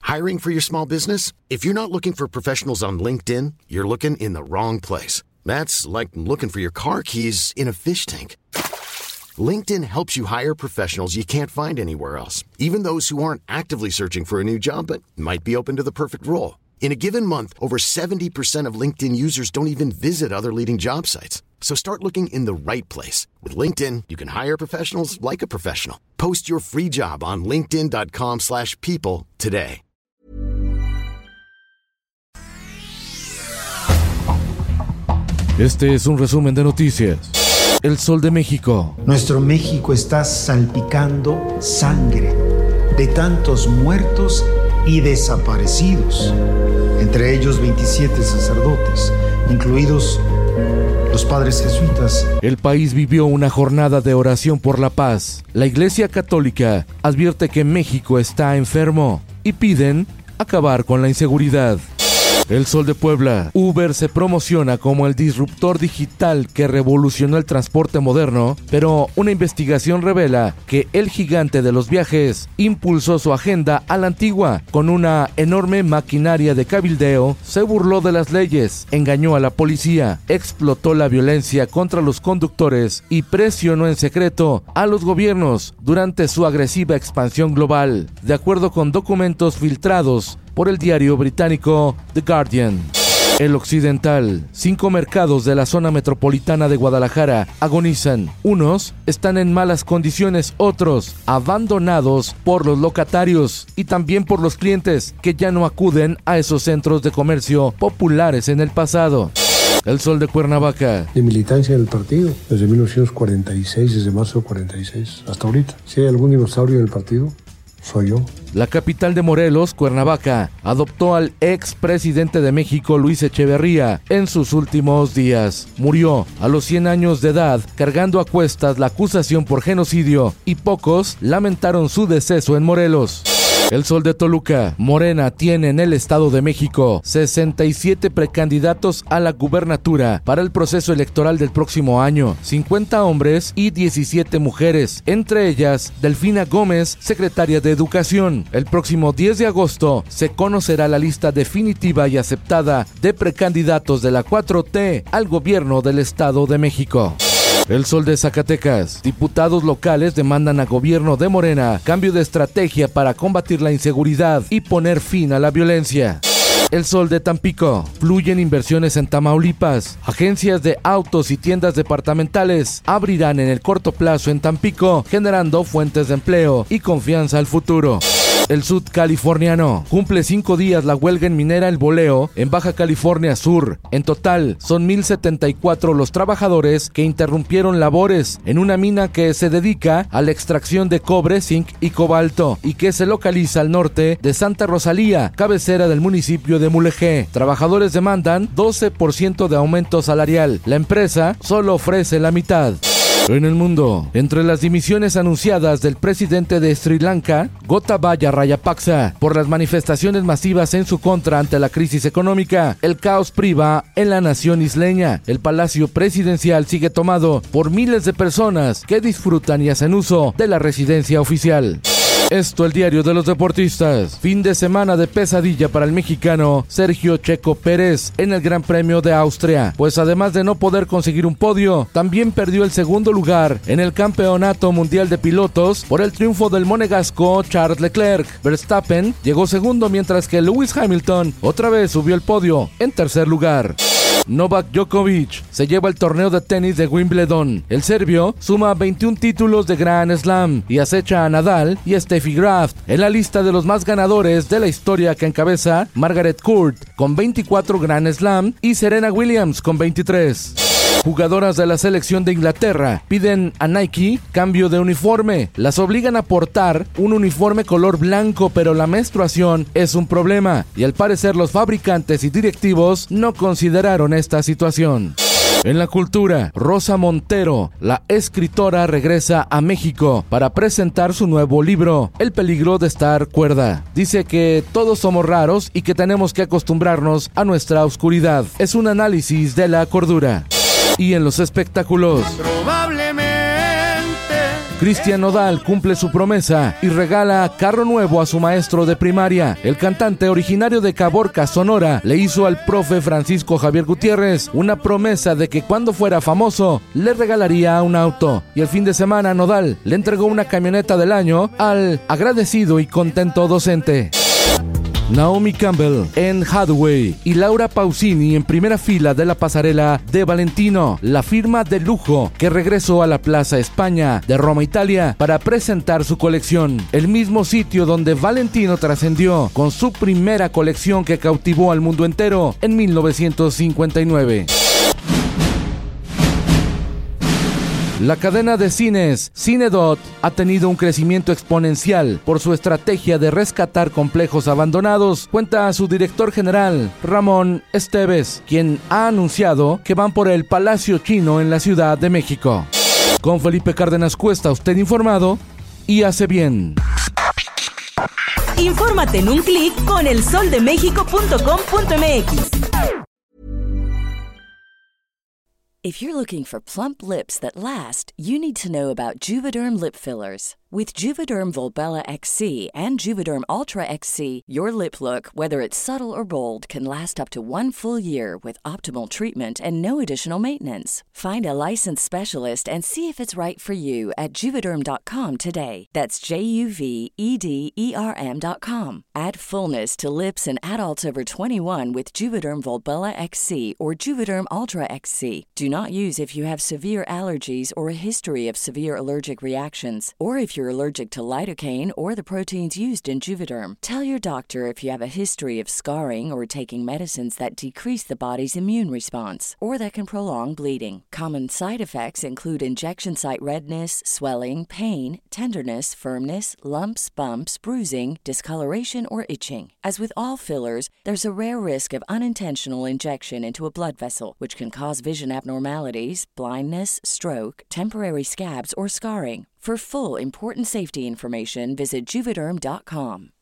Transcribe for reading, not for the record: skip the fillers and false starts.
Hiring for your small business? If you're not looking for professionals on LinkedIn, you're looking in the wrong place. That's like looking for your car keys in a fish tank. LinkedIn helps you hire professionals you can't find anywhere else, even those who aren't actively searching for a new job but might be open to the perfect role. In a given month, over 70% of LinkedIn users don't even visit other leading job sites. So start looking in the right place. With LinkedIn, you can hire professionals like a professional. Post your free job on linkedin.com/people today. Este es un resumen de noticias. El Sol de México. Nuestro México está salpicando sangre de tantos muertos y desaparecidos, entre ellos 27 sacerdotes, incluidos los padres jesuitas. El país vivió una jornada de oración por la paz. La Iglesia Católica advierte que México está enfermo y piden acabar con la inseguridad. El Sol de Puebla. Uber se promociona como el disruptor digital que revolucionó el transporte moderno, pero una investigación revela que el gigante de los viajes impulsó su agenda a la antigua. Con una enorme maquinaria de cabildeo, se burló de las leyes, engañó a la policía, explotó la violencia contra los conductores y presionó en secreto a los gobiernos durante su agresiva expansión global, de acuerdo con documentos filtrados por el diario británico The Guardian. El Occidental. 5 mercados de la zona metropolitana de Guadalajara agonizan. Unos están en malas condiciones, otros abandonados por los locatarios y también por los clientes que ya no acuden a esos centros de comercio populares en el pasado. El Sol de Cuernavaca. De militancia del partido, desde 1946, desde marzo de 46, hasta ahorita. Si hay algún dinosaurio del partido, soy yo. La capital de Morelos, Cuernavaca, adoptó al ex presidente de México, Luis Echeverría, en sus últimos días. Murió a los 100 años de edad, cargando a cuestas la acusación por genocidio, y pocos lamentaron su deceso en Morelos. El Sol de Toluca. Morena tiene en el Estado de México 67 precandidatos a la gubernatura para el proceso electoral del próximo año, 50 hombres y 17 mujeres, entre ellas Delfina Gómez, secretaria de Educación. El próximo 10 de agosto se conocerá la lista definitiva y aceptada de precandidatos de la 4T al gobierno del Estado de México. El Sol de Zacatecas. Diputados locales demandan a gobierno de Morena cambio de estrategia para combatir la inseguridad y poner fin a la violencia. El Sol de Tampico. Fluyen inversiones en Tamaulipas. Agencias de autos y tiendas departamentales abrirán en el corto plazo en Tampico, generando fuentes de empleo y confianza al futuro. El sudcaliforniano. Cumple 5 días la huelga en minera El Boleo en Baja California Sur. En total, son 1,074 los trabajadores que interrumpieron labores en una mina que se dedica a la extracción de cobre, zinc y cobalto y que se localiza al norte de Santa Rosalía, cabecera del municipio de Mulegé. Trabajadores demandan 12% de aumento salarial. La empresa solo ofrece la mitad. En el mundo, entre las dimisiones anunciadas del presidente de Sri Lanka, Gotabaya Rajapaksa, por las manifestaciones masivas en su contra ante la crisis económica, el caos priva en la nación isleña. El palacio presidencial sigue tomado por miles de personas que disfrutan y hacen uso de la residencia oficial. Esto, el diario de los deportistas. Fin de semana de pesadilla para el mexicano Sergio Checo Pérez en el Gran Premio de Austria, pues además de no poder conseguir un podio, también perdió el segundo lugar en el Campeonato Mundial de Pilotos por el triunfo del monegasco Charles Leclerc. Verstappen llegó segundo, mientras que Lewis Hamilton otra vez subió el podio en tercer lugar. Novak Djokovic se lleva el torneo de tenis de Wimbledon. El serbio suma 21 títulos de Grand Slam y acecha a Nadal y Steffi Graf en la lista de los más ganadores de la historia, que encabeza Margaret Court con 24 Grand Slam y Serena Williams con 23. Jugadoras de la selección de Inglaterra piden a Nike cambio de uniforme. Las obligan a portar un uniforme color blanco, pero la menstruación es un problema y al parecer los fabricantes y directivos no consideraron esta situación. En la cultura, Rosa Montero, la escritora, regresa a México para presentar su nuevo libro, El peligro de estar cuerda. Dice que todos somos raros y que tenemos que acostumbrarnos a nuestra oscuridad. Es un análisis de la cordura. Y en los espectáculos, probablemente Cristian Nodal cumple su promesa y regala carro nuevo a su maestro de primaria. El cantante originario de Caborca, Sonora, le hizo al profe Francisco Javier Gutiérrez una promesa de que cuando fuera famoso le regalaría un auto. Y el fin de semana Nodal le entregó una camioneta del año al agradecido y contento docente. Naomi Campbell, Anne Hathaway y Laura Pausini en primera fila de la pasarela de Valentino, la firma de lujo que regresó a la Plaza España de Roma, Italia, para presentar su colección, el mismo sitio donde Valentino trascendió con su primera colección que cautivó al mundo entero en 1959. La cadena de cines Cinedot ha tenido un crecimiento exponencial por su estrategia de rescatar complejos abandonados, cuenta su director general, Ramón Esteves, quien ha anunciado que van por el Palacio Chino en la Ciudad de México. Con Felipe Cárdenas Cuesta, usted informado y hace bien. Infórmate en un clic con elsoldemexico.com.mx. If you're looking for plump lips that last, you need to know about Juvederm lip fillers. With Juvederm Volbella XC and Juvederm Ultra XC, your lip look, whether it's subtle or bold, can last up to 1 full year with optimal treatment and no additional maintenance. Find a licensed specialist and see if it's right for you at Juvederm.com today. That's JUVEDERM.com. Add fullness to lips in adults over 21 with Juvederm Volbella XC or Juvederm Ultra XC. Do not use if you have severe allergies or a history of severe allergic reactions, or if you're allergic to lidocaine or the proteins used in Juvederm. Tell your doctor if you have a history of scarring or taking medicines that decrease the body's immune response or that can prolong bleeding. Common side effects include injection site redness, swelling, pain, tenderness, firmness, lumps, bumps, bruising, discoloration, or itching. As with all fillers, there's a rare risk of unintentional injection into a blood vessel, which can cause vision abnormalities, blindness, stroke, temporary scabs, or scarring. For full important safety information, visit Juvederm.com.